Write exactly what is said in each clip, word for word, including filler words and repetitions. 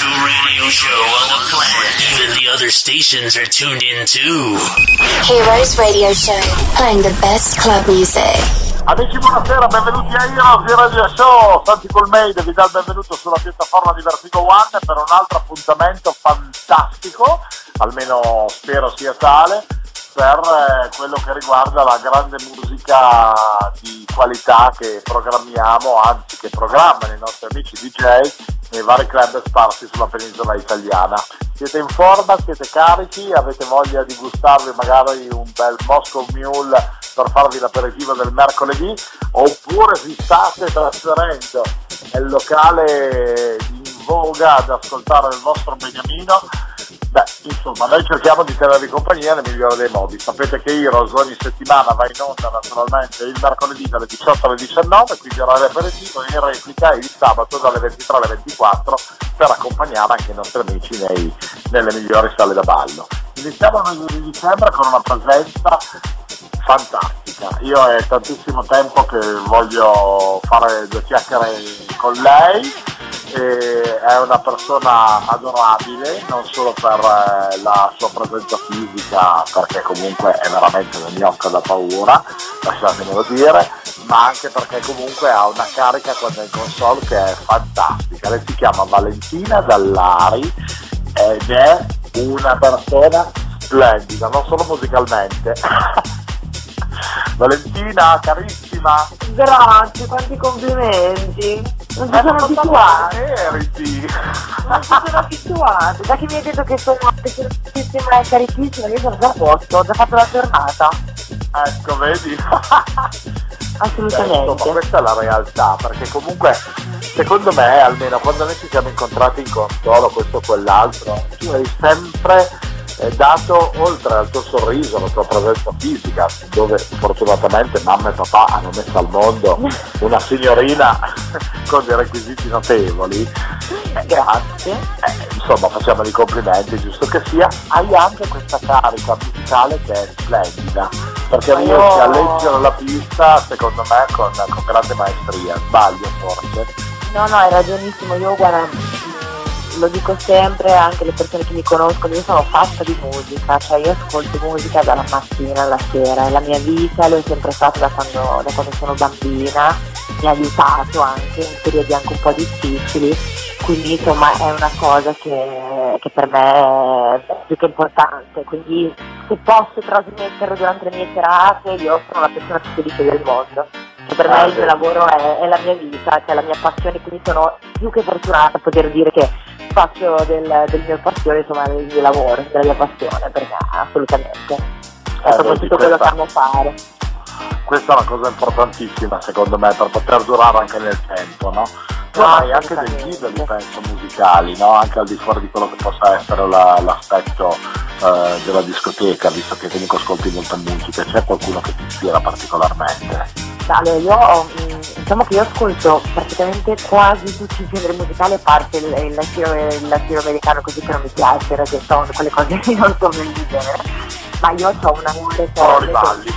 radio show on the planet. Even the other stations are tuned in too. Heroes Radio Show, playing the best club music. Amici, buonasera, benvenuti a Heroes Radio Show. Santi Colmeide vi dà il benvenuto sulla piattaforma di Vertigo One per un altro appuntamento fantastico, almeno spero sia tale, per quello che riguarda la grande musica di qualità che programmiamo, anzi che programmano i nostri amici D J nei vari club sparsi sulla penisola italiana. Siete in forma, siete carichi, avete voglia di gustarvi magari un bel Moscow Mule per farvi l'aperitivo del mercoledì, oppure vi state trasferendo nel locale in voga ad ascoltare il vostro beniamino? Beh, insomma, noi cerchiamo di tenervi compagnia nel migliore dei modi. Sapete che Heroes ogni settimana va in onda naturalmente il mercoledì dalle diciotto alle diciannove, quindi orario aperitivo, in replica il sabato dalle ventitré alle ventiquattro per accompagnare anche i nostri amici nei, nelle migliori sale da ballo. Iniziamo il mese di dicembre con una presenza fantastica. Io è tantissimo tempo che voglio fare due chiacchiere con lei. E è una persona adorabile, non solo per eh, la sua presenza fisica, perché comunque è veramente una gnocca da paura, lasciatemelo dire, ma anche perché comunque ha una carica quando è in console che è fantastica. Lei si chiama Valentina Dallari ed è una persona splendida, non solo musicalmente. Valentina, carissima. Grazie, quanti complimenti. Non ci sono abituata. Non ci sono abituata. Da che mi hai detto che sono carissima e carichissima, io sono già a posto, ho già fatto la giornata. Ecco, vedi? Assolutamente. Beh, insomma, questa è la realtà, perché comunque secondo me, almeno quando noi ci siamo incontrati in console, questo o quell'altro, tu hai sempre è dato, oltre al tuo sorriso, alla tua presenza fisica, dove fortunatamente mamma e papà hanno messo al mondo una signorina con dei requisiti notevoli. Grazie. Eh, insomma, facciamo i complimenti, giusto che sia. Hai anche questa carica musicale che è splendida, perché riesci io... a leggere la pista, secondo me, con, con grande maestria. Sbaglio forse? No, no, hai ragionissimo. Io guarda, lo dico sempre, anche le persone che mi conoscono, io sono fatta di musica, cioè io ascolto musica dalla mattina alla sera, è la mia vita, l'ho sempre fatto da quando, da quando sono bambina, mi ha aiutato anche in periodi anche un po' difficili, quindi insomma è una cosa che, che per me è più che importante, quindi se posso trasmetterlo durante le mie serate io sono la persona più felice del mondo. Che per me il mio lavoro è, è la mia vita, cioè la mia passione, quindi sono più che fortunata a poter dire che faccio del, del mio passione, insomma del mio lavoro, della mia passione, perché assolutamente è eh, proprio tutto quello che amo fare. Questa è una cosa importantissima secondo me per poter durare anche nel tempo, no? Tu No, hai anche dei titoli, penso, musicali, no? Anche al di fuori di quello che possa essere la, l'aspetto eh, della discoteca, visto che comunque ascolti molta musica, c'è qualcuno che ti ispira particolarmente? Allora, io ho, diciamo che io ascolto praticamente quasi tutti i generi musicali, a parte il, il, latino, il latinoamericano, così che non mi piace, perché sono quelle cose che non sono nel mio genere, ma io ho un amore però li balli.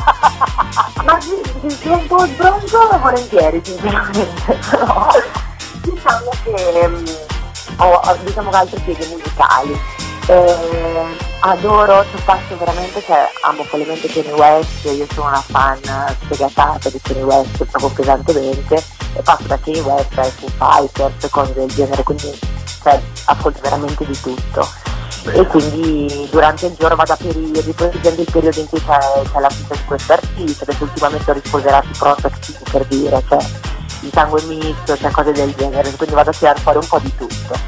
Ma sì, sì, un po' sbronzo volentieri sinceramente, però diciamo che um, ho diciamo che altri piedi musicali. Eh, adoro, cioè passo veramente, cioè amo follemente Kanye West, io sono una fan sfegatata di Kanye West proprio pesantemente, e passo da Kanye West ai Foo Fighters, cose del genere, quindi cioè, ascolto veramente di tutto. Bene. E quindi durante il giorno vado a periodi, poi dipende il periodo in cui c'è, c'è la vita di questo artista, adesso ultimamente ho rispolverato i Protect, per dire, cioè il sangue misto, cioè cose del genere, quindi vado a tirare fuori un po' di tutto.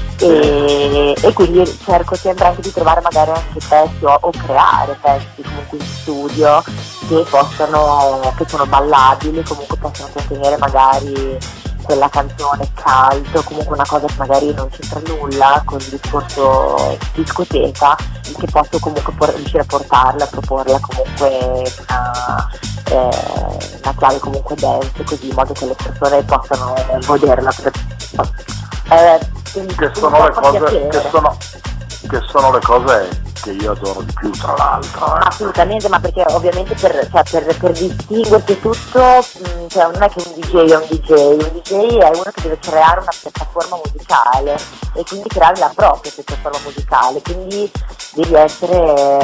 E, e quindi cerco sempre anche di trovare magari anche pezzi o, o creare pezzi comunque in studio che possano, che sono ballabili, comunque possono contenere magari quella canzone caldo, comunque una cosa che magari non c'entra nulla con il discorso discoteca, che posso comunque por- riuscire a portarla, a proporla comunque una, eh, una chiave comunque dance, così in modo che le persone possano goderla. Eh, che sono le cose che sono, che sono le cose che io adoro di più, tra l'altro. Eh. Assolutamente, ma perché ovviamente per, cioè, per, per distinguersi tutto, mh, cioè non è che un D J è un D J, un D J è uno che deve creare una piattaforma musicale e quindi creare la propria piattaforma musicale, quindi devi essere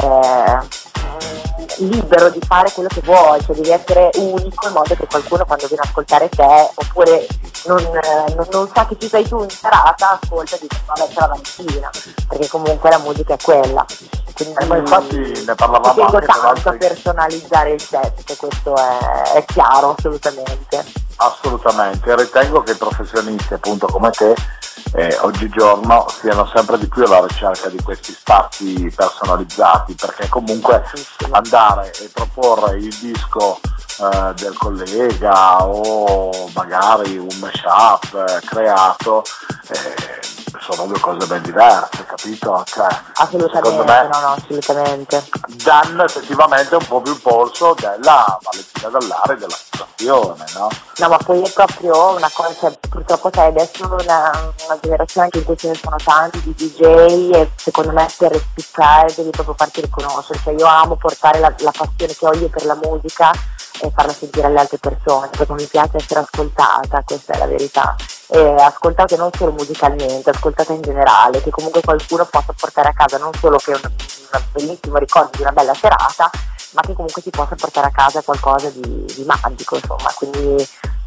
eh, libero di fare quello che vuoi, cioè devi essere unico in modo che qualcuno quando viene a ascoltare te, oppure non, eh, non, non sa che ci sei tu in serata, ascolta e dice vabbè c'è la mattina, perché comunque la musica è quella. Quindi eh, ma infatti ne parlavamo tengo anche tanto altri... a personalizzare il set, questo è, è chiaro assolutamente. Assolutamente, ritengo che i professionisti appunto come te eh, oggigiorno siano sempre di più alla ricerca di questi spazi personalizzati, perché comunque andare e proporre il disco eh, del collega o magari un mashup eh, creato eh, sono due cose ben diverse, capito? Cioè, assolutamente, me, no, no, assolutamente. danno effettivamente un po' più il polso della Valentina Dall'Are, della situazione, no? No, ma poi è proprio una cosa, cioè, purtroppo sai, adesso una, una generazione anche in cui ce ne sono tanti di D J e secondo me per spiccare devi proprio farti riconoscere, cioè io amo portare la, la passione che ho io per la musica e farla sentire alle altre persone, perché mi piace essere ascoltata, questa è la verità. E ascoltate non solo musicalmente, ascoltate in generale, che comunque qualcuno possa portare a casa non solo che un, un bellissimo ricordo di una bella serata, ma che comunque si possa portare a casa qualcosa di, di magico, insomma, quindi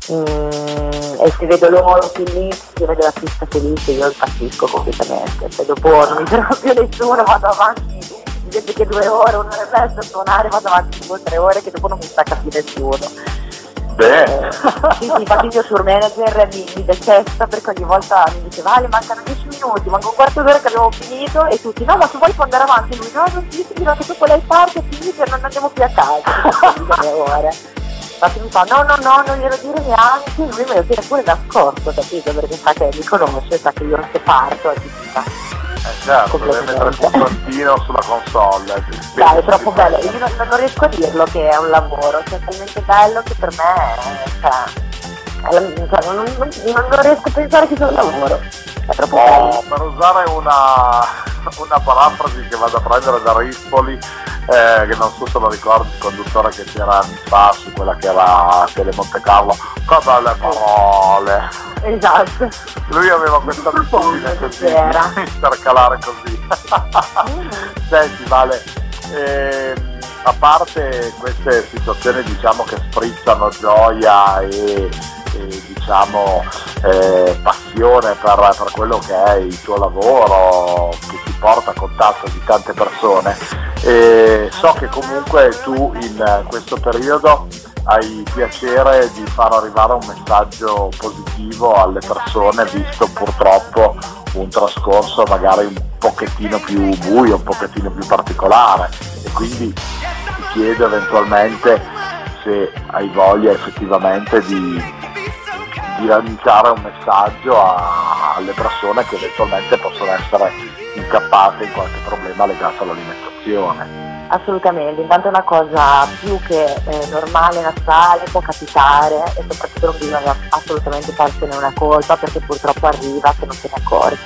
mm, e se vedo loro felici, se vedo la pista felice, io impazzisco completamente, se dopo non mi fermo più nessuno, vado avanti, invece che due ore, un'ora e mezza a suonare, vado avanti due o tre ore che dopo non mi stacca più nessuno. Bene. Sì, sì, infatti il mio tour manager mi, mi detesta perché ogni volta mi dice vale, mancano dieci minuti, manca un quarto d'ora che abbiamo finito e tutti no ma se vuoi puoi andare avanti, lui no non ti dico che dopo lei parte è finito e non andiamo più a casa ore. Infatti mi fa no no no non glielo dire neanche, lui me lo tiene pure nascosto, capito, perché sa che mi conosce, sa che io se parto e ti fa. Eh certo, deve mettere il puntino sulla console. Dai, è troppo bello, io non, non riesco a dirlo che è un lavoro, cioè è talmente bello che per me cioè, è la, cioè, non, non, non, non riesco a pensare che sia un lavoro, è troppo oh, bello. Per usare una, una parafrasi che vado a prendere da Rispoli, eh, che non so se lo ricordi, il conduttore che c'era anni fa su quella che era Tele Monte Carlo, che belle parole. Esatto. Lui aveva questa abitudine così, intercalare così. Senti Vale, ehm, a parte queste situazioni diciamo che sprizzano gioia e, e diciamo eh, passione per, per quello che è il tuo lavoro, che ti porta a contatto di tante persone, e so che comunque tu in questo periodo hai piacere di far arrivare un messaggio positivo alle persone, visto purtroppo un trascorso magari un pochettino più buio, un pochettino più particolare, e quindi ti chiedo eventualmente se hai voglia effettivamente di, di lanciare un messaggio a, alle persone che eventualmente possono essere incappate in qualche problema legato all'alimentazione. Assolutamente, intanto è una cosa più che eh, normale, naturale, può capitare e soprattutto non bisogna assolutamente farsene una colpa perché purtroppo arriva se non se ne accorgi.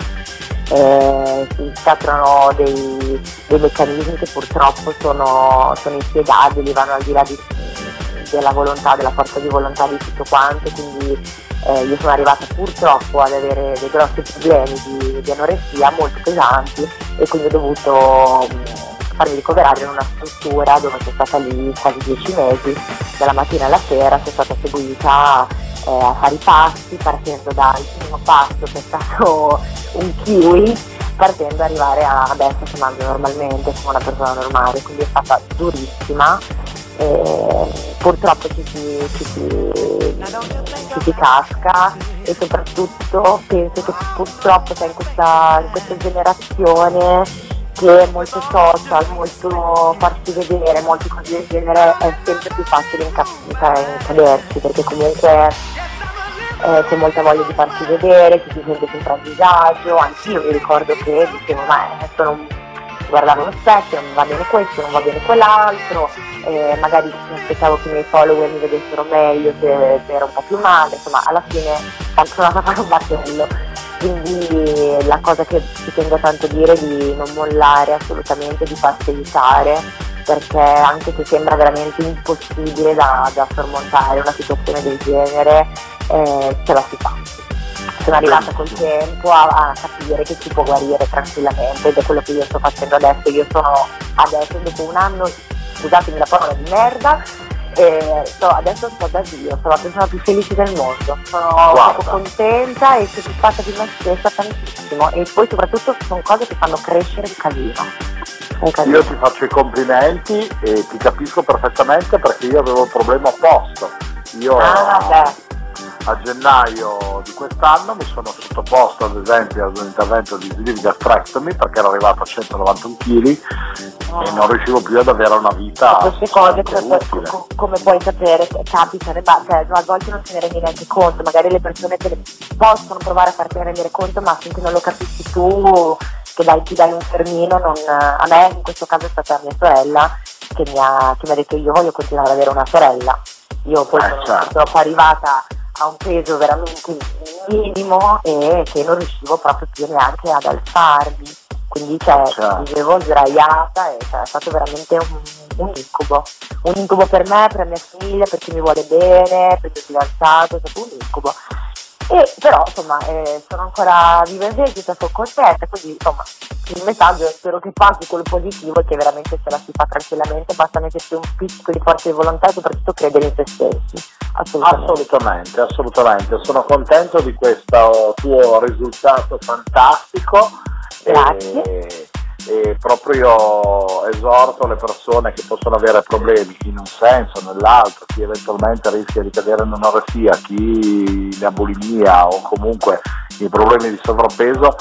Eh, si scattano dei, dei meccanismi che purtroppo sono, sono inspiegabili, vanno al di là di, della volontà, della forza di volontà di tutto quanto, quindi eh, io sono arrivata purtroppo ad avere dei grossi problemi di, di anoressia molto pesanti e quindi ho dovuto farmi ricoverare in una struttura dove sono stata lì quasi dieci mesi, dalla mattina alla sera sono stata seguita eh, a fare i passi, partendo dal primo passo che è stato un kiwi, partendo ad arrivare a adesso che mangio normalmente come una persona normale, quindi è stata durissima. E purtroppo ci si, ci, si, ci si casca e soprattutto penso che purtroppo c'è in questa, in questa generazione che è molto social, molto farsi vedere, molti cose del genere, è sempre più facile incaderci perché comunque eh, c'è molta voglia di farsi vedere, ci si sente sempre a disagio, anch'io mi ricordo che dicevo ma adesso non guardavo lo specchio, non va bene questo, non va bene quell'altro, eh, magari mi aspettavo che i miei follower mi vedessero meglio se, se ero un po' più male, insomma alla fine sono andata a fare un battello. quindi la cosa che ci tengo tanto a dire è di non mollare assolutamente, di farsi aiutare, perché anche se sembra veramente impossibile da, da sormontare una situazione del genere, eh, ce la si fa. Sono arrivata col tempo a, a capire che si può guarire tranquillamente, ed è quello che io sto facendo adesso. Io sono adesso, dopo un anno, scusatemi la parola di merda, e sto, adesso sto da Dio, sono la persona più felice del mondo, sono proprio contenta e soddisfatta di me stessa tantissimo, e poi soprattutto sono cose che fanno crescere il casino. Io ti faccio i complimenti e ti capisco perfettamente, perché io avevo il problema opposto. Io ah, beh. a gennaio di quest'anno mi sono sottoposto ad esempio ad un intervento di sleeve gastrectomy, perché ero arrivato a centonovantuno chili oh. e non riuscivo più ad avere una vita. Queste cose come, puoi, come puoi sapere capitano, cioè, a volte non te ne rendi neanche conto, magari le persone te le possono provare a farti rendere conto, ma finché non lo capisci tu, che dai, ti dai un fermino, non, a me in questo caso è stata mia sorella che mi ha, che mi ha detto io voglio continuare ad avere una sorella. Io poi eh, sono certo. purtroppo arrivata a un peso veramente minimo e che non riuscivo proprio più neanche ad alzarmi, quindi cioè, certo. vivevo sdraiata e cioè, è stato veramente un, un incubo, un incubo per me, per la mia famiglia, per chi mi vuole bene, per il mio fidanzato, è stato un incubo. E però insomma eh, sono ancora viva e vegeta, sono contenta, quindi insomma il messaggio spero che passi quello positivo, e che veramente se la si fa tranquillamente, basta mettersi un pizzico di forza di volontà e soprattutto credere in se stessi. Assolutamente. assolutamente, assolutamente, sono contento di questo tuo risultato fantastico. Grazie. E... e proprio io esorto le persone che possono avere problemi in un senso o nell'altro, chi eventualmente rischia di cadere in un'anoressia, chi ne ha bulimia o comunque i problemi di sovrappeso,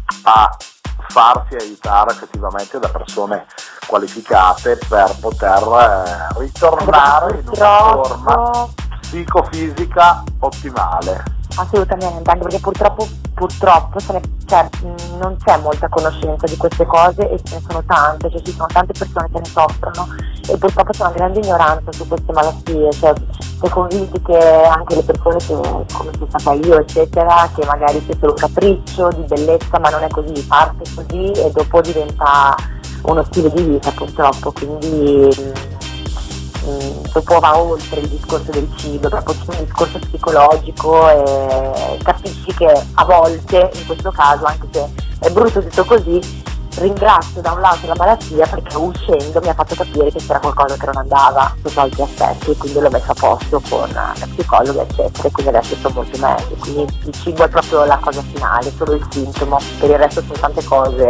a farsi aiutare effettivamente da persone qualificate per poter eh, ritornare in una forma psicofisica ottimale. Assolutamente, anche perché purtroppo purtroppo se ne, cioè, non c'è molta conoscenza di queste cose, e ce ne sono tante, cioè ci sono tante persone che ne soffrono, e purtroppo c'è una grande ignoranza su queste malattie, cioè si è convinti che anche le persone che, come sono stata io eccetera, che magari sia solo capriccio di bellezza, ma non è così, parte così e dopo diventa uno stile di vita purtroppo, quindi Mm, dopo va oltre il discorso del cibo, proprio c'è un discorso psicologico, e capisci che a volte, in questo caso, anche se è brutto tutto così, ringrazio da un lato la malattia, perché uscendo mi ha fatto capire che c'era qualcosa che non andava sotto altri aspetti, e quindi l'ho messo a posto con la psicologa eccetera, e quindi adesso sto molto meglio. Quindi il cibo è proprio la cosa finale, solo il sintomo, per il resto sono tante cose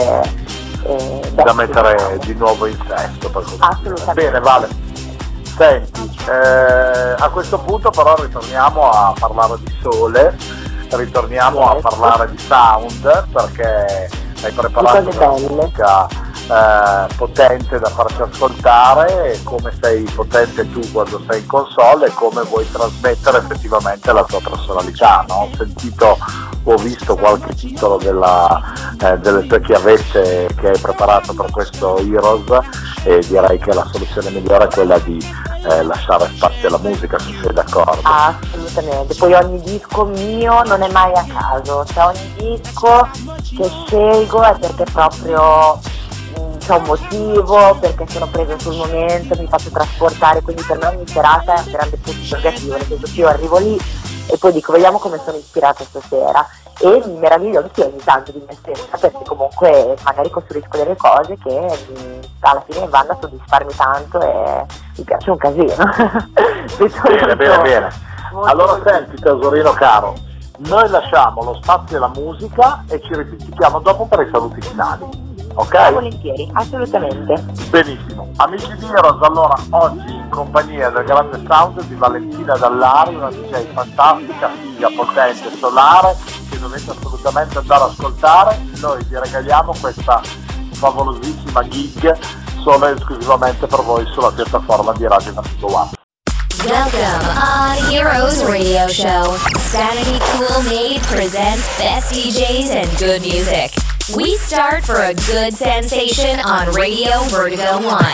eh, da mettere di nuovo in sesto. Assolutamente. Bene, Vale. Senti, eh, a questo punto però ritorniamo a parlare di sole, ritorniamo a parlare di sound, perché hai preparato una musica eh, potente da farci ascoltare, e come sei potente tu quando sei in console e come vuoi trasmettere effettivamente la tua personalità, no? Ho sentito, ho visto qualche titolo della, eh, delle tue chiavette che hai preparato per questo Heroes, e direi che la soluzione migliore è quella di eh, lasciare spazio alla musica, se sei d'accordo. Assolutamente, poi ogni disco mio non è mai a caso, cioè ogni disco che scelgo è perché proprio mh, c'è un motivo, perché sono presa sul momento, mi faccio trasportare, quindi per me ogni serata è un grande punto interrogativo, nel senso che io arrivo lì e poi dico vediamo come sono ispirata stasera, e mi meraviglio anche ogni tanto di me stessa, perché comunque magari costruisco delle cose che mh, alla fine vanno a soddisfarmi tanto e mi piace un casino. Bene, bene, bene. Allora senti tesorino caro, noi lasciamo lo spazio alla musica e ci ripetiamo dopo per i saluti finali, ok? Volentieri, assolutamente. Benissimo, amici di Heroes, allora oggi in compagnia del grande sound di Valentina Dallari, una D J fantastica, figa, potente, solare, che dovete assolutamente andare ad ascoltare. Noi vi regaliamo questa favolosissima gig solo e esclusivamente per voi sulla piattaforma di Radio Vertigo One. Welcome on Heroes Radio Show. Sanity Cool Made presents best D Js and good music. We start for a good sensation on Radio Vertigo One.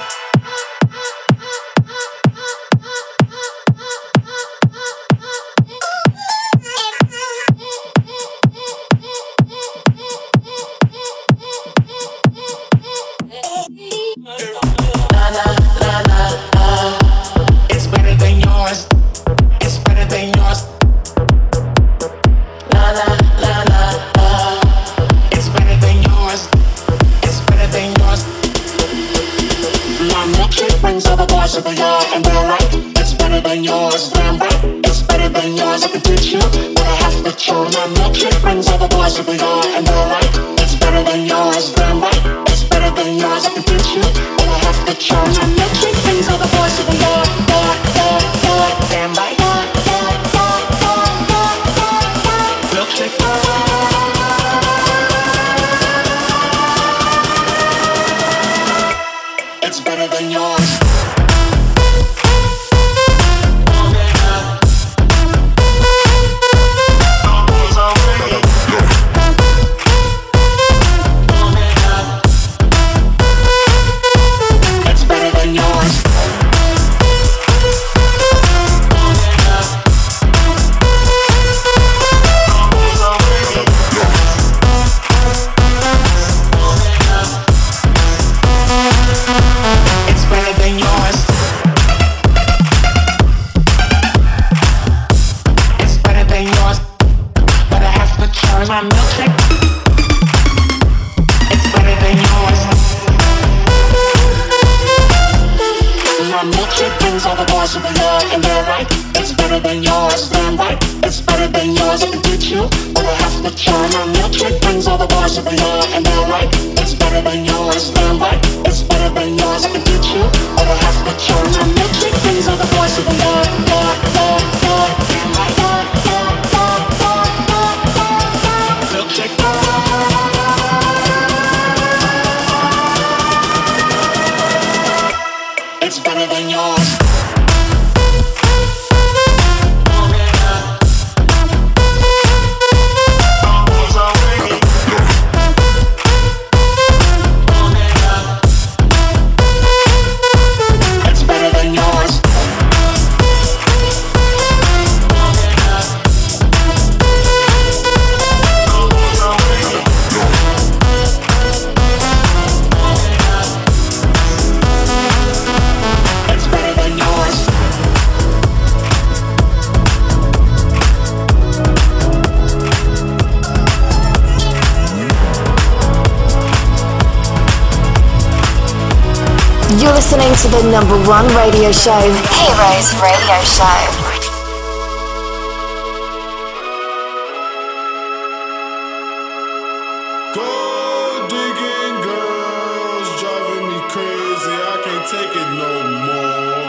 than yours, I can teach you, but I have to show my milkshake brings all the boys to the yard, and they're right. It's better than yours, damn right. It's better than yours, I can teach you, but I have to show my milkshake brings all the boys to the yard, yard, yard, yard, damn right. Yard, yard, yard, yard, yard, yard, yard. Milkshake. It's better than yours. My milkshake, it's better than yours. My milkshake brings all the boys to the yard, and they're right. It's better than yours, damn right. It's better than yours, I can teach you, but I have to try. My milkshake brings all the boys to the yard, and they're right. It's better than yours, damn right. It's better than yours, I can teach you, but I have to try. My milkshake brings all the boys to the yard, yard, yard, yard, damn right. Yard, yard, yard, yard, yard, yard, yard. Milkshake. It's better than yours. It's better than yours. You're listening to the number one radio show, Heroes Radio Show. Gold digging girls driving me crazy, I can't take it no more.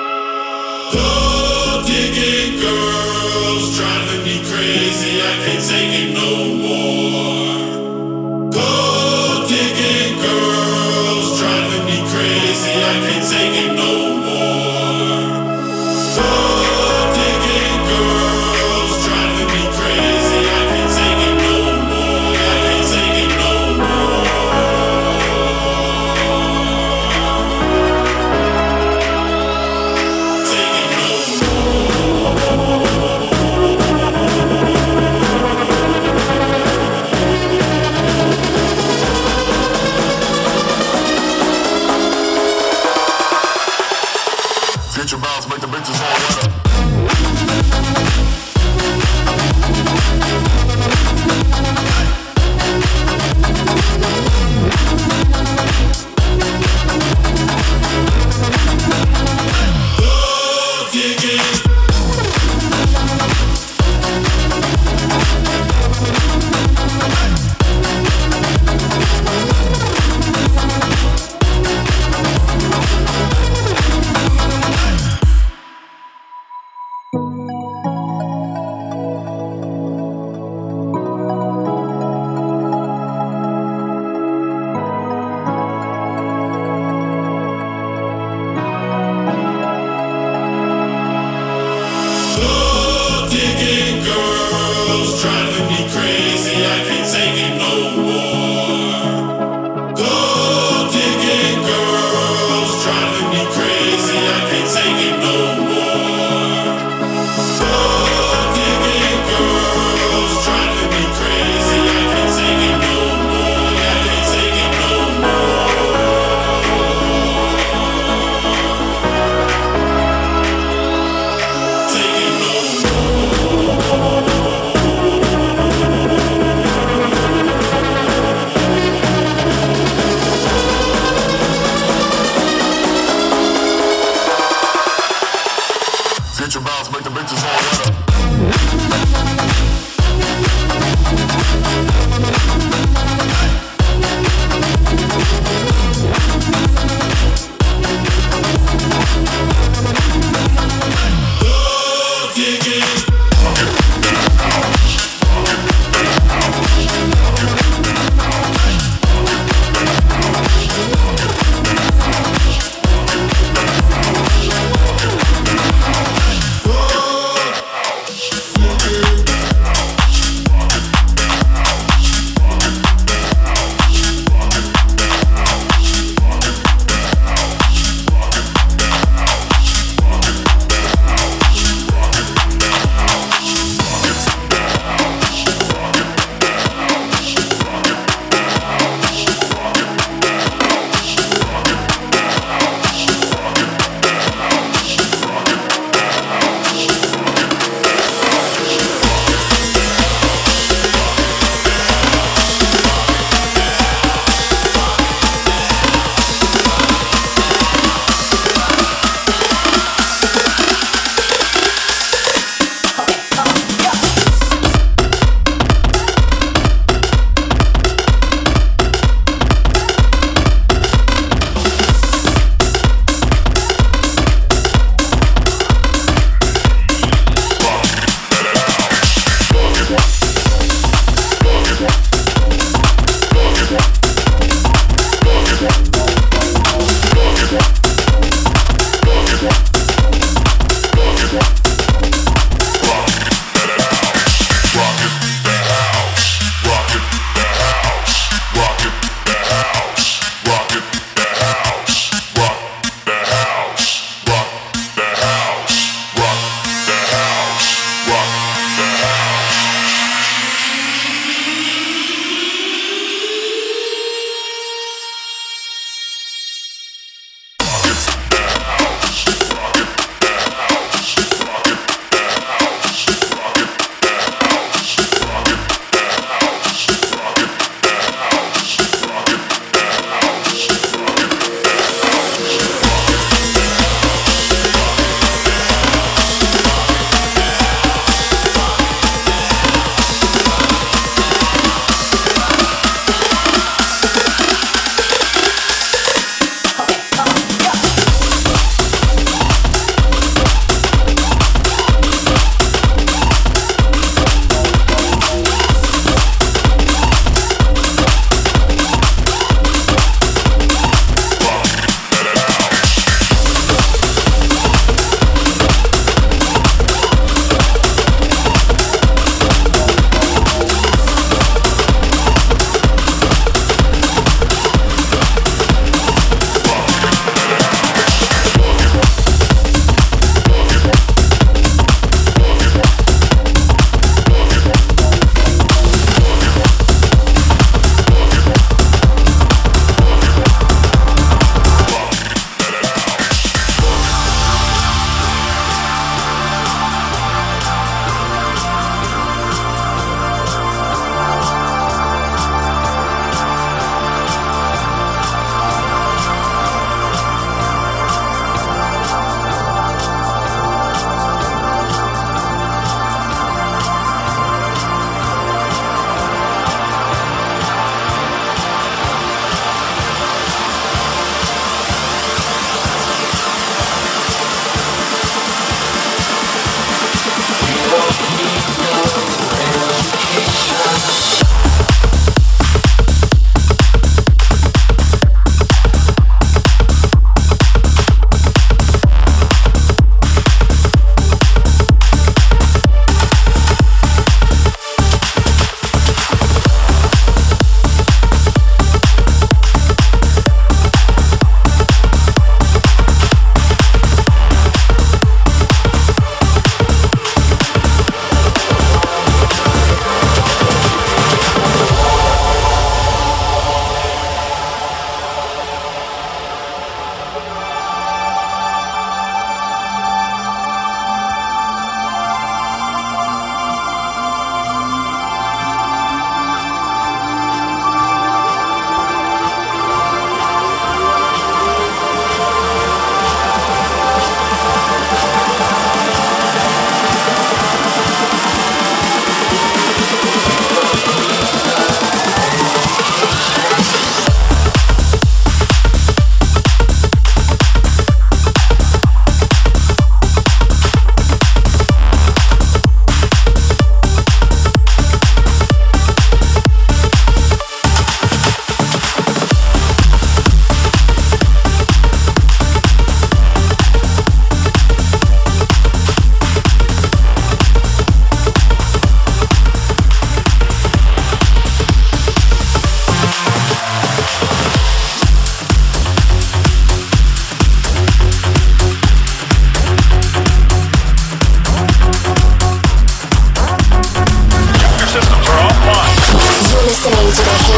Gold digging girls driving me crazy, I can't take it no more. Gold digging girls driving me crazy, I can't take it no more. Gold digging girls driving me crazy, I can't take it no more. I can't take it no more. Take it no more.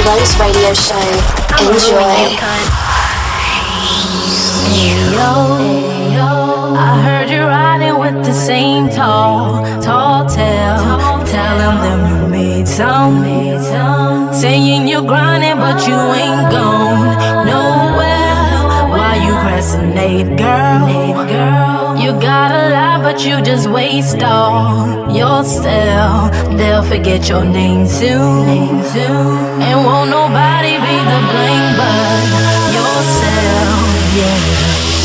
Heroes Radio Show. Enjoy. Ayo, I heard you riding with the same tall, tall tale, telling them you made some, made some, saying you're grinding but you ain't gone nowhere. Why you procrastinate, girl? girl? You got a lot but you just waste all yourself. They'll forget your name soon, name soon, and won't nobody be the blame but yourself. Yeah.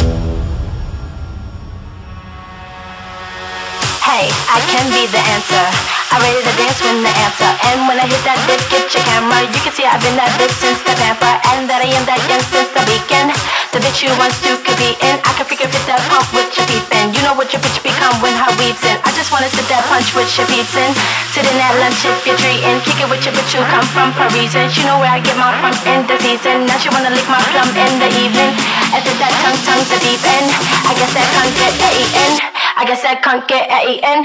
Hey, I can be the answer. I'm ready to dance when the answer. And when I hit that dip, get your camera. You can see I've been that bitch since the pamper. And that I am that young since the beacon. The bitch you once to could be in. I can figure fit that pump with your peepin'. You know what your bitch become when her weaves in. I just wanna sit that punch with your peeps in. Sitting at lunch if you're treating. Kick it with your bitch who come from Parisian. She know where I get my from in the season. Now she wanna lick my plum in the evening. And fit that tongue, tongue the deep end. I guess that can't get A-E-N. I guess that can't get A-E-N.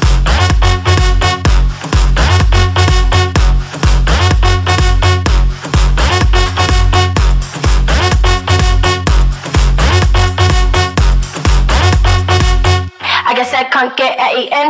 I guess I can't get A-E-N.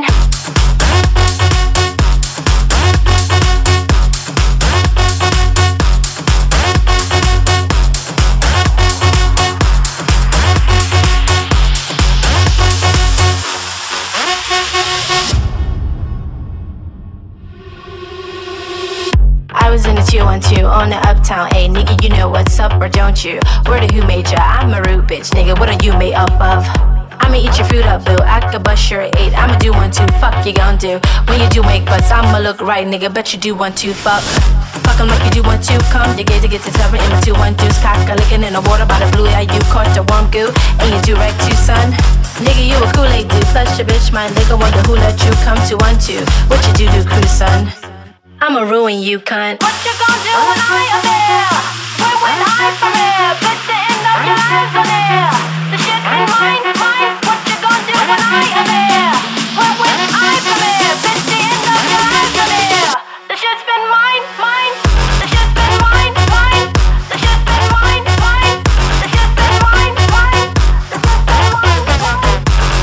I was in the two one two on the uptown, ayy nigga, you know what's up or don't you? Where the who made ya? I'm a rude bitch, nigga, what are you made up of? I'ma eat your food up, boo, I could bust your eight, I'ma do one, two, fuck you gon' do? When you do make butts, I'ma look right, nigga, bet you do one, two, fuck. Fuck 'em like you do one, two, come, you get to get to seven in my two, one, deuce, cock, a lickin' in the water by the blue, yeah, you caught the warm goo, and you do right too, son. Nigga, you a Kool-Aid dude, plus your bitch, my nigga, wonder who let you come to one, two, what you do do, crew, son? I'ma ruin you, cunt. What you gon' do when I am there? Where would I from here? Bitch, the end of your lives on there. The shit ain't mine, mine. What you gon' do when I am there? Where would I from here? Bitch, the end of your lives on there. The shit's been mine, mine. The shit's been mine, mine. The shit's been mine, mine. The shit's been mine, mine. The shit's been mine, mine.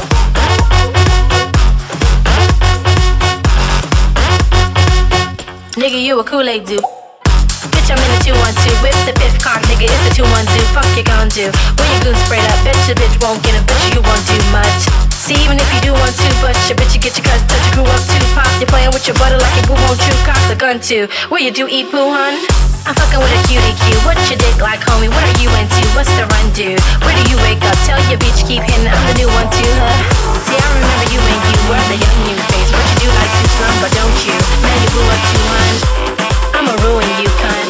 Nigga, you a Kool-Aid dude. Bitch, I'm in the two one two with the fifth con, nigga, it's the two one two. Fuck you gon' do? When your goon sprayed up, bitch, the bitch won't get it, bitch, you won't do much. See, even if you do want to, but your bitch, you get your cousin, touch your crew up too. Pop, you're playing with your butter like your boo won't you cock the gun too. Where you do eat poo, hun? I'm fucking with a cutie Q. What's your dick like, homie? What are you into? What's the run do? Where do you wake up? Tell your bitch keep hitting. I'm the new one too, huh? See, I remember you when you were the young new face. What you do like to slum, but don't you? Now you blew up too, hun. I'ma ruin you, cunt.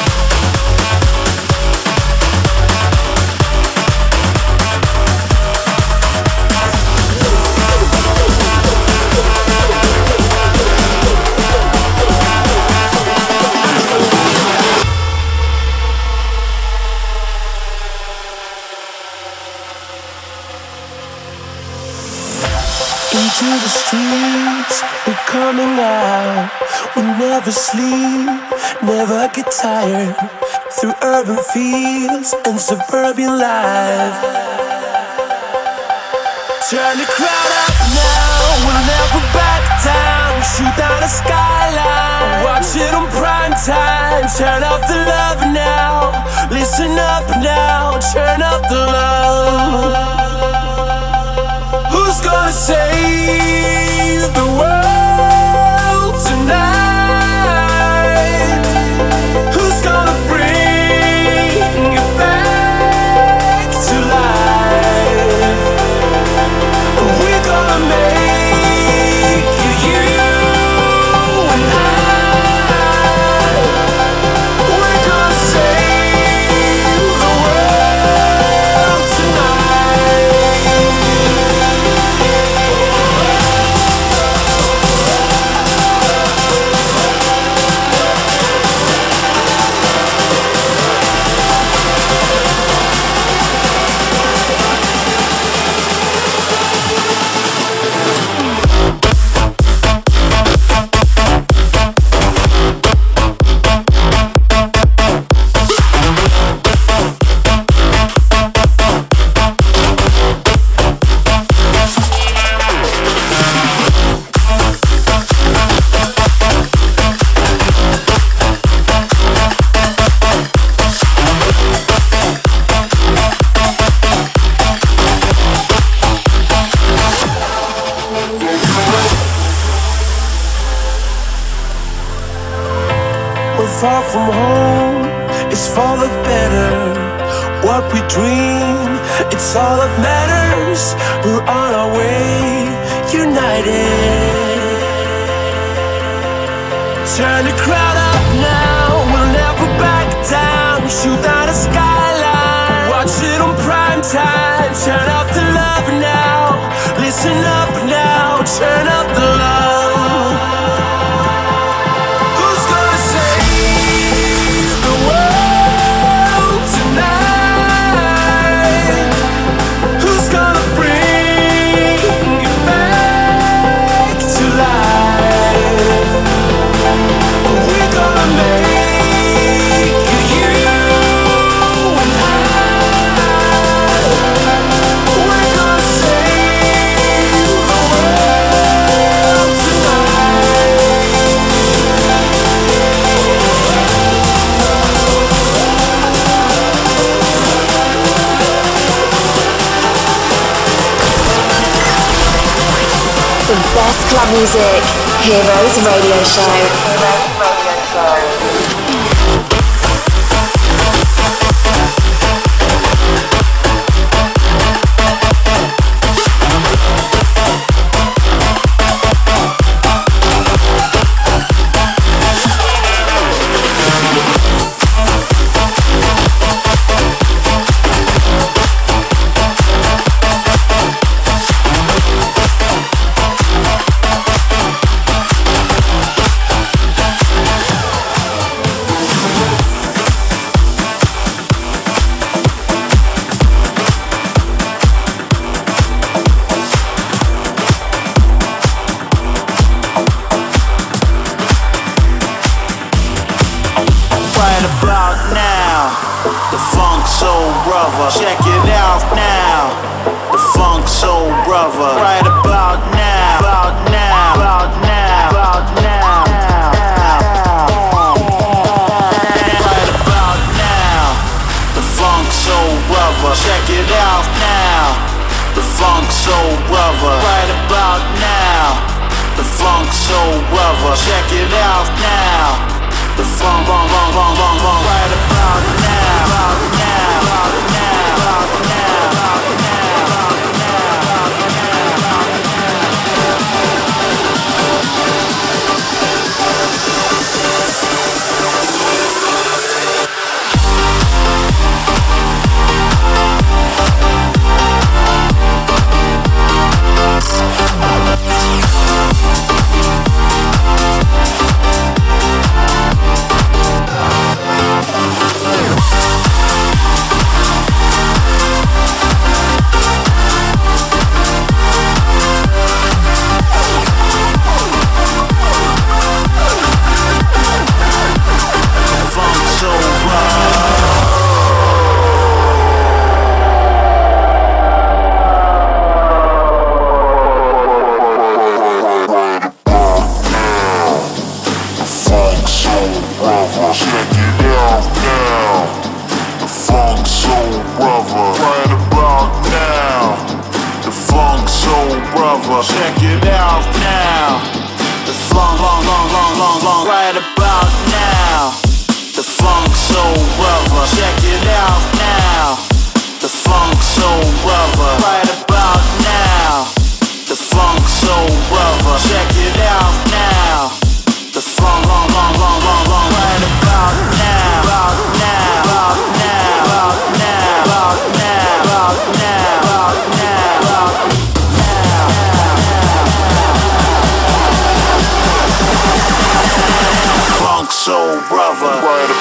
Into the streets, we're coming out. We never sleep, never get tired. Through urban fields and suburban life. Turn the crowd up now, we'll never back down. Shoot down the skyline, watch it on prime time. Turn up the love now, listen up now. Turn up the love. Who's gonna save the world tonight? Who's gonna bring it back to life? We're gonna make it, you and I. We're gonna save the world tonight. far from home is for the better. What we dream, it's all that matters. We're on our way, united. Turn the crowd up now, we'll never back down. Shoot down the skyline, watch it on prime time. Turn up the love now, listen up now. Turn up the love. Who's gonna save the world tonight? Who's gonna bring it back to life? We're gonna make it, you and I. We're gonna save the world tonight. The best club music. Heroes Radio Show. Heroes Radio Show. Right about now, the Funk Soul Brother. Check it out now, the Funk Soul Brother. Right about now, about now, about now, about now. Right about now, the Funk Soul Brother. Check it out now, the Funk Soul Brother. Right about now, the Funk Soul Brother. Check it out now. The funk, bong, bong, bong, bong, bong. Right about now, about now, about now, about now, about now, about check it out now. The funk, long, long, long, long, long. Right about now, the Funk Soul Brother. Check it out now, the Funk Soul Brother. Right about now, the Funk Soul Brother. Check it out now, the funk, long, long, long, long, long. Right about now, about now, about now, about now, about now, about now, about now, about now. Funk Soul Brother. Right.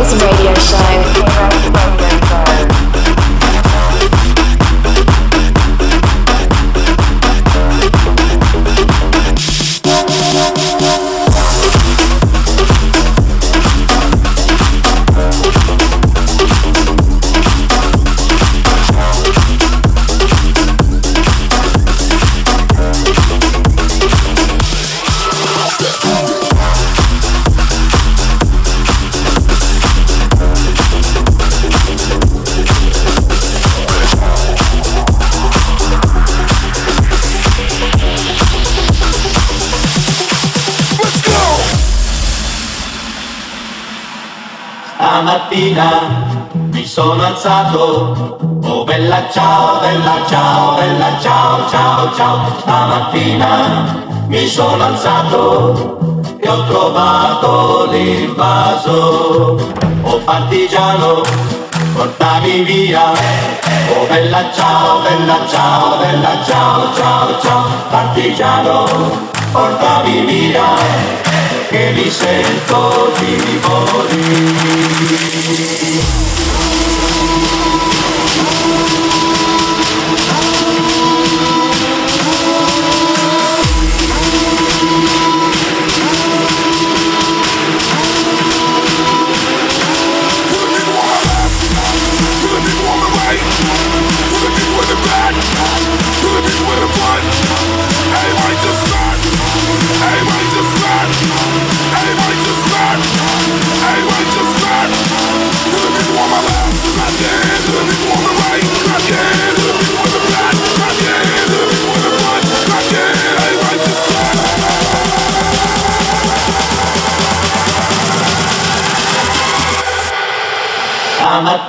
Heroes Radio Show. Stamattina mi sono alzato, oh bella ciao, bella ciao, bella ciao, ciao, ciao. Stamattina mi sono alzato e ho trovato l'invaso. Oh partigiano, portami via, oh bella ciao, bella ciao, bella ciao, ciao, ciao. Partigiano, portami via, che mi sento di morire. I'm a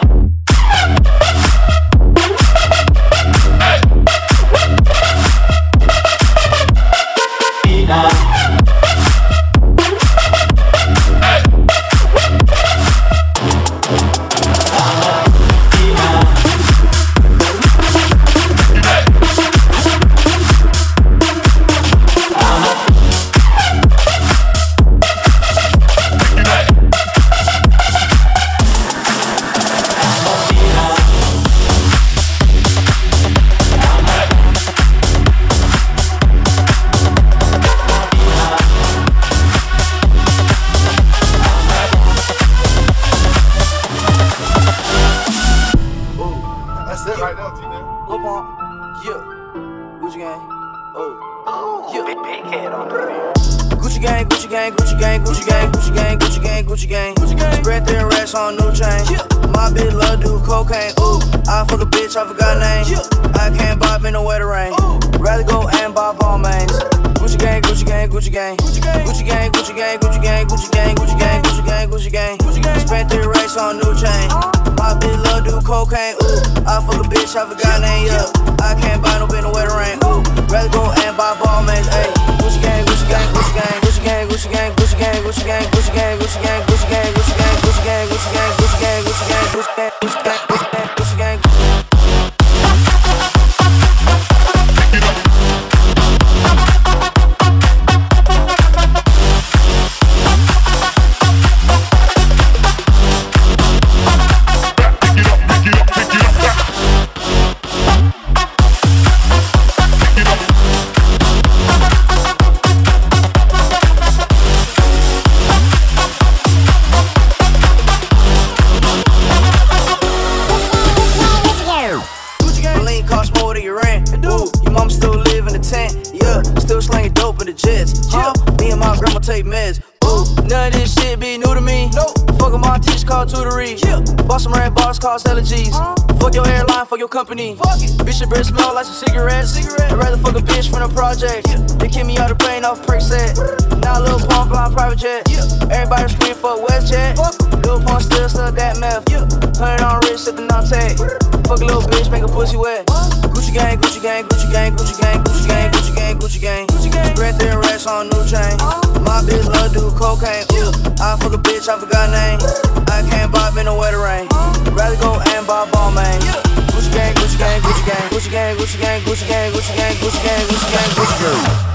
company. Bitch, your breath smell like some cigarettes. Cigarette. I'd rather fuck a bitch from the project. Yeah. They kick me out the plane off prick set. Now a little pump flying private jet. Yeah. Everybody scream for WestJet. Little pump still stuck that meth. Yeah. Hundred on wrist, sippin' on tag. Fuck a little bitch, make a pussy wet. Gucci gang, Gucci gang, Gucci gang, Gucci gang, Gucci gang, Gucci gang, Gucci gang, Gucci gang. Spread their racks on new chain. My bitch love do cocaine. Ooh, I fuck a bitch, I forgot name. I can't buy me no wetter rain. Rather go and buy ball man. Gucci gang, Gucci gang, Gucci gang, Gucci gang, Gucci gang, Gucci gang, Gucci gang, Gucci gang, Gucci gang, Gucci gang.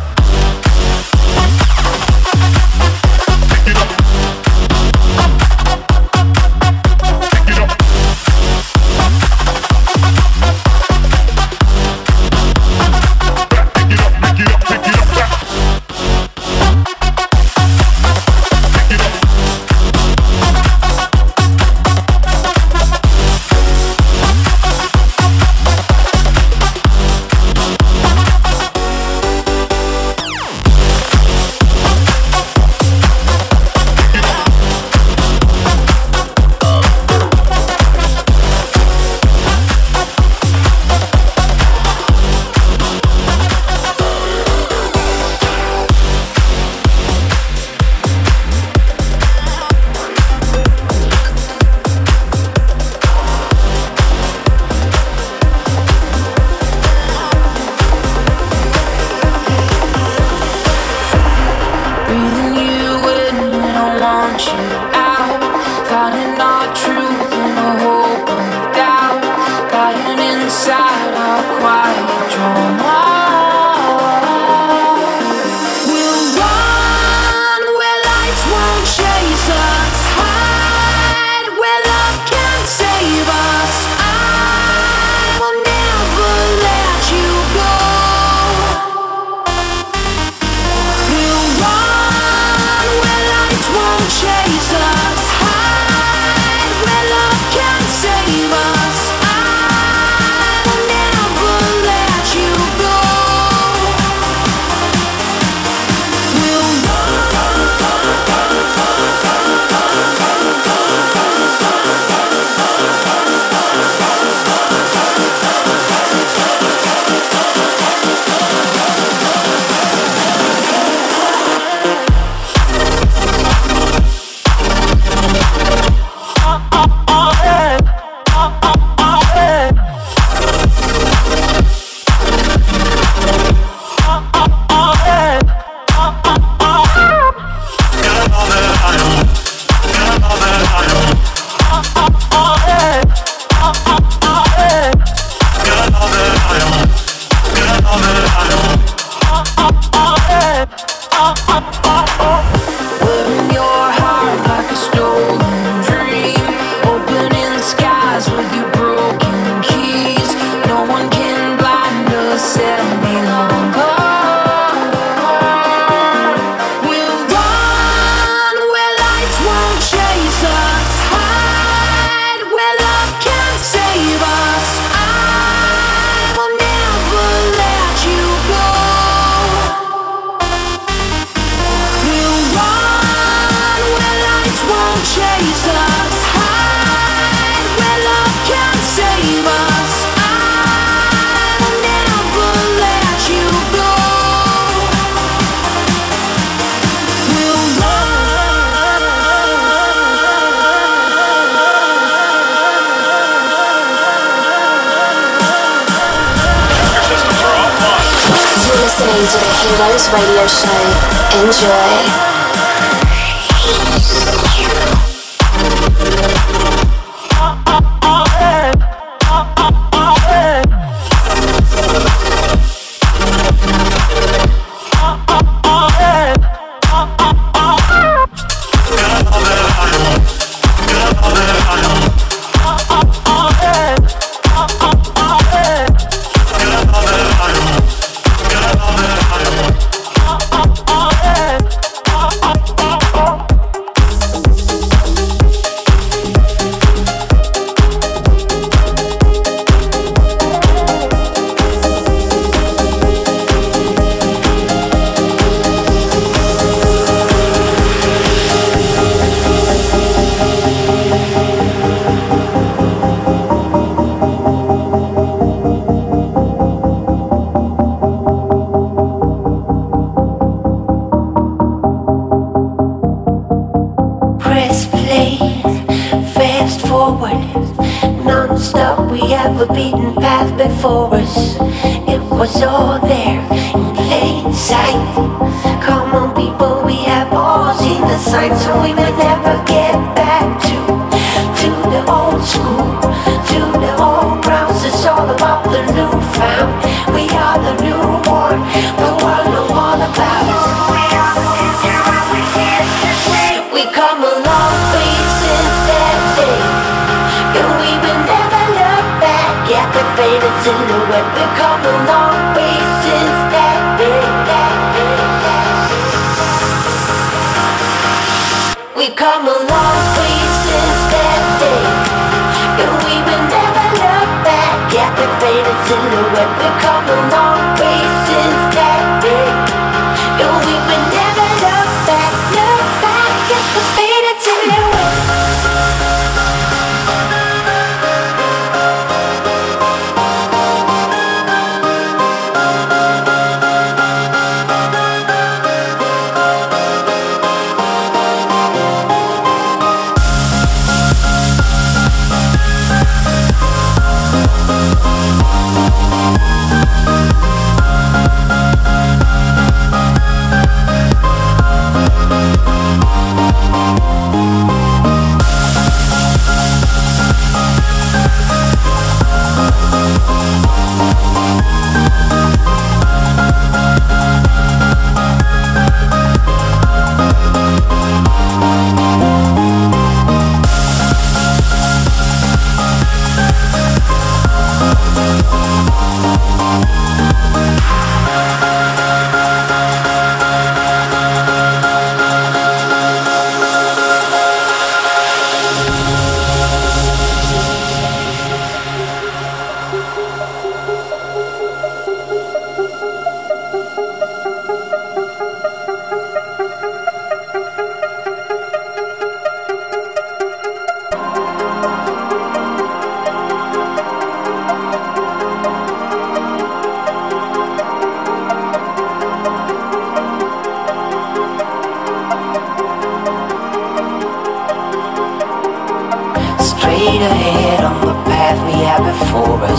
write a quiet drama. We'll run where lights won't chase us, hide where love can't save us. I will never let you go. We'll run where lights won't chase us, hide where love can't save us. I will never let you go. We'll wearing your heart like a stolen dream, opening skies with your broken keys. No one can blind us any longer. We'll run where lights won't chase us, hide where love can't save us. I will never let you go. We'll run where lights won't chase us, hide where love can't save us. I will never let you go. We'll You're listening to the Heroes Radio Show. Enjoy. Press play, fast forward, non-stop. We have a beaten path before us. It was all there in plain sight. Come on, people, we have all seen the signs, so we may never get back to to the old school, to the old grounds. It's all about the new found. We are the newborn. The world know all about us. We are the future, and we can't just wait. We come a long way since that day, and we will never look back at the faded silhouette. We come a long way since that day, that day, that day. We come a long way since that day, and we will never look back at the faded silhouette. We come a long way since that day, and we will never look back, look back at the faded silhouette.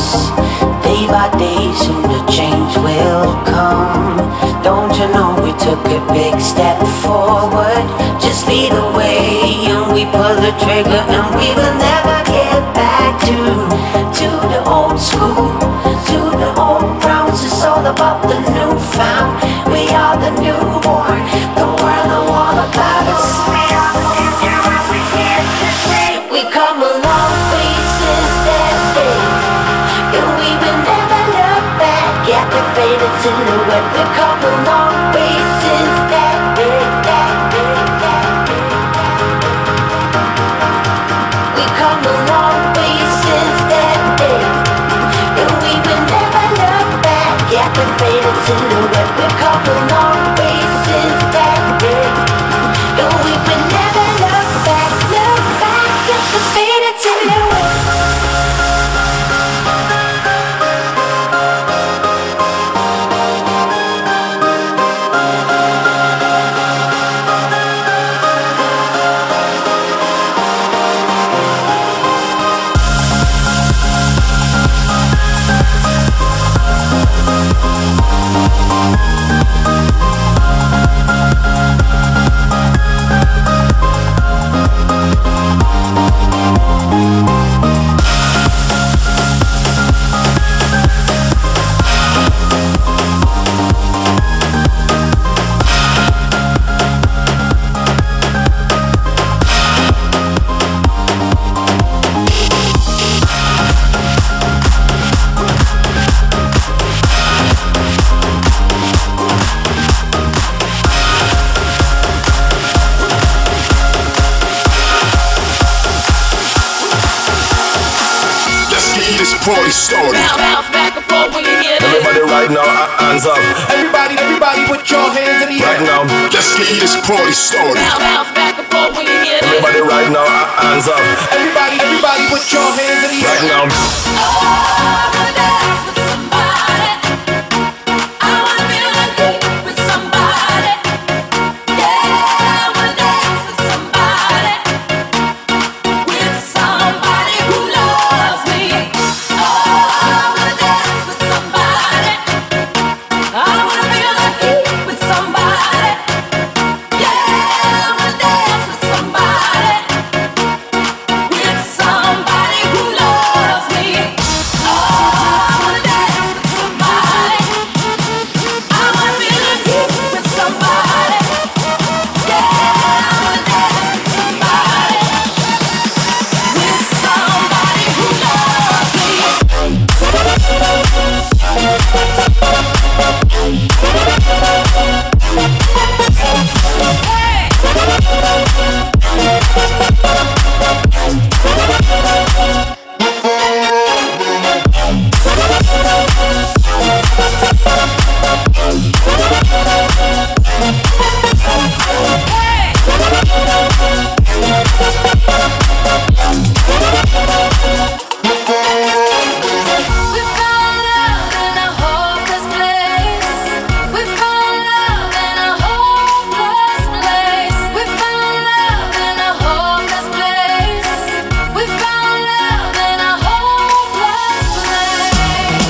promise. Day by day, soon the change will come. Don't you know we took a big step forward? Just lead the way and we pull the trigger, and we will never get back to to the old school, to the old grounds. It's all about the newfound. We are the newborn, the world know all about us. We come a long way since that day, and we will never look back at the faded silhouette. We come a long way since that day, that day, that day, that day. We come a long way since that day, and we will never look back at the faded silhouette. We come a long way since that day, and we will never look back, look back at the faded silhouette. Party started. Now bounce back and forth when you hear this. Everybody right now, hands up. Everybody, everybody put your hands in the air. Right now, let's get this party started. Now bounce back and forth when you hear this. Everybody right now, hands up. Everybody, everybody put your hands in the air. Right now. Oh, I wanna dance with somebody. I wanna feel like it with somebody. Yeah, I wanna dance with somebody. With somebody who loves me. Oh, I wanna dance with somebody. I wanna feel like it with somebody. Yeah, I wanna dance with somebody. With somebody who loves me. Oh, I wanna dance with somebody. I wanna feel like it with somebody. Yeah, I wanna dance with somebody. With somebody who loves me. We found love in a hopeless place. We found love in a hopeless place. We found love in a hopeless place. We found love in a hopeless place.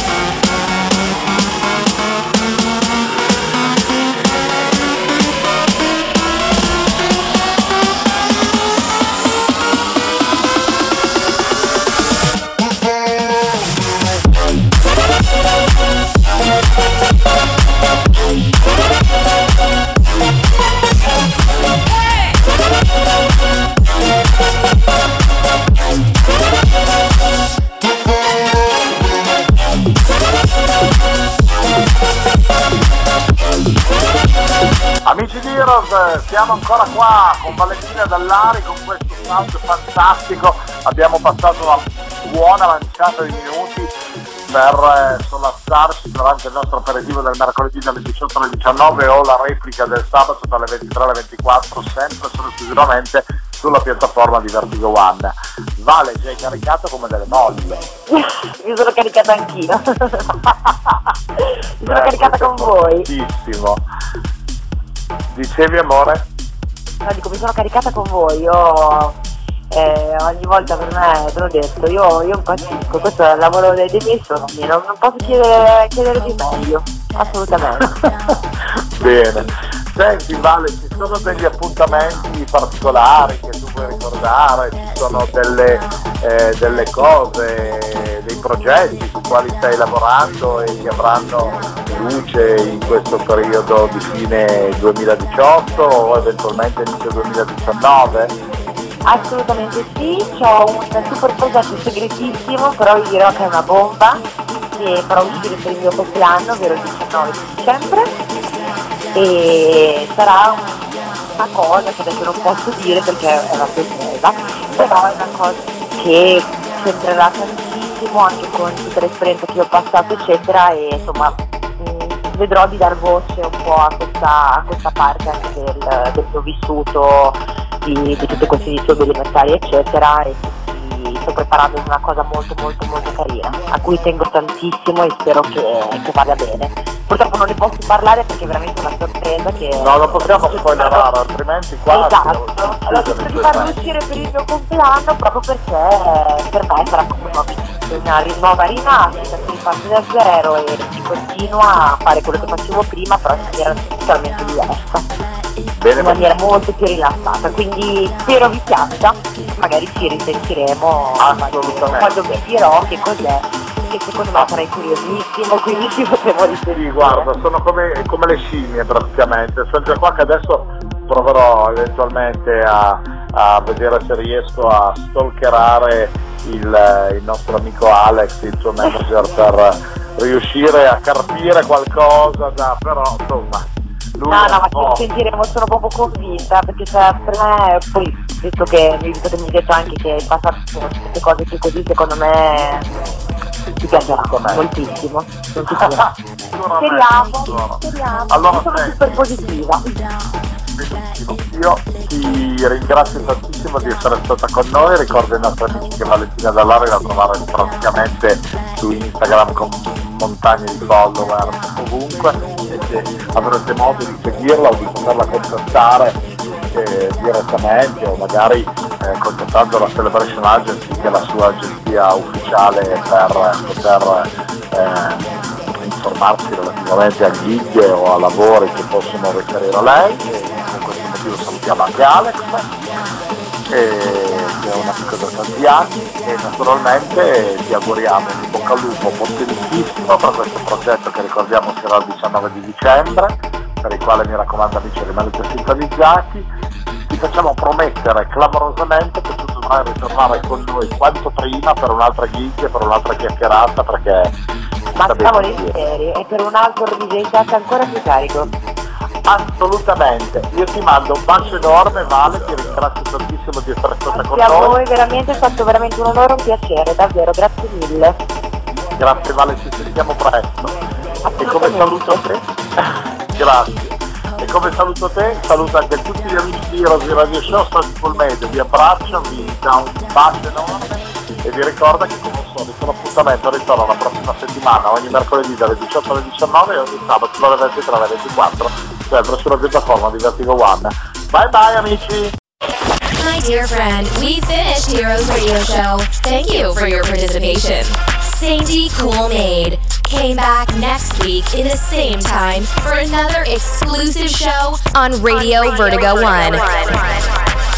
Amici di Heroes, siamo ancora qua con Valentina Dallari con questo sound fantastico. Abbiamo passato una buona manciata di minuti per eh, sollazzarci durante il nostro aperitivo del mercoledì dalle diciotto alle diciannove o la replica del sabato dalle ventitré alle ventiquattro, sempre solo esclusivamente sulla piattaforma di Vertigo One. Vale, ci hai caricato come delle molle. Mi sono caricata anch'io. Mi sono Eh, caricata con voi. Fortissimo. Dicevi, amore? No, dico, mi sono caricata con voi. Io Eh, ogni volta per me, te l'ho detto, io, io impazzisco, questo è il lavoro dei, dei miei sogni, non, non posso chiedere, chiedere di meglio, assolutamente. Bene, senti Vale, ci sono degli appuntamenti particolari che tu vuoi ricordare, ci sono delle, eh, delle cose, dei progetti sui quali stai lavorando e che avranno luce in questo periodo di fine duemiladiciotto o eventualmente inizio duemiladiciannove? Assolutamente sì, ho un super progetto segretissimo, però vi dirò che è una bomba, che farò uscire per il mio compleanno, ovvero il diciannove di dicembre, e sarà una cosa che adesso non posso dire perché è una sorpresa, però è una cosa che c'entrerà tantissimo anche con tutta l'esperienza che ho passato eccetera, e insomma mh, vedrò di dar voce un po' a questa, a questa parte anche del, del mio vissuto, di, di tutte queste disturbi alimentari eccetera, e quindi sto preparando una cosa molto molto molto carina a cui tengo tantissimo e spero che, che vada bene. Purtroppo non ne posso parlare perché è veramente una sorpresa che... No, non possiamo spoilerare, altrimenti qua... Esatto, allora cerco di farlo uscire per il mio compleanno proprio perché per me sarà come una nuova rinascita, si riparte da zero e si continua a fare quello che facevo prima, però in maniera totalmente diversa. Bene, in maniera molto più rilassata, quindi spero vi piaccia, magari ci risentiremo quando vi dirò che cos'è, che secondo me sarai curiosissimo, quindi ci potevo riferire. Sì, guarda, sono come, come le scimmie praticamente, sempre qua che adesso proverò eventualmente a, a vedere se riesco a stalkerare il, il nostro amico Alex, il suo manager, per riuscire a carpire qualcosa da, però insomma... Lui no, no, ma ci sentiremo, sono proprio convinta, perché cioè, per me, poi, visto che, visto che mi hai detto anche che hai passato queste cose più così, secondo me ti piacerà moltissimo. Speriamo, speriamo, allora, io sono sei. super positiva. Benissimo, io ti ringrazio tantissimo di essere stata con noi, ricordo ai nostri amici che Valentina Dall'Are la trovare praticamente su Instagram con montagne di follower ovunque, e se avrete modo di seguirla o di poterla contattare eh, direttamente o magari eh, contattando la Celebration Agency, che è la sua agenzia ufficiale per poter eh, informarsi relativamente a gig o a lavori che possono riferire a lei. E per questo motivo salutiamo anche Alex, e che è un amico da tanti anni, e naturalmente ti auguriamo un bocca al lupo potentissimo per questo progetto che ricordiamo sarà il diciannove di dicembre, per il quale mi raccomando amici rimanete sintonizzati. Ti facciamo promettere clamorosamente che tu dovrai ritornare con noi quanto prima per un'altra gig e per un'altra chiacchierata, perché ma sta volentieri, e per un altro D J set ancora più carico. Assolutamente, io ti mando un bacio enorme Vale, ti ringrazio tantissimo di essere stata con noi. A noi. voi veramente è stato veramente un onore, un piacere, davvero, grazie mille. Grazie Vale, ci sentiamo presto. E come saluto te, grazie. E come saluto te, saluto anche tutti gli amici di Heroes Radio Show, Soulful Made, vi abbraccio, vi do un bacio enorme e vi ricordo che come solito l'appuntamento ritorna la prossima settimana, ogni mercoledì dalle diciotto alle diciannove e ogni sabato dalle ventitré alle ventiquattro, sempre sulla piattaforma di Vertigo One. Bye bye amici! My dear friend, we finished Heroes Radio Show. Thank you for your participation. Sainty Cool Maid came back next week in the same time for another exclusive show on Radio, on Radio Vertigo, Vertigo One. One.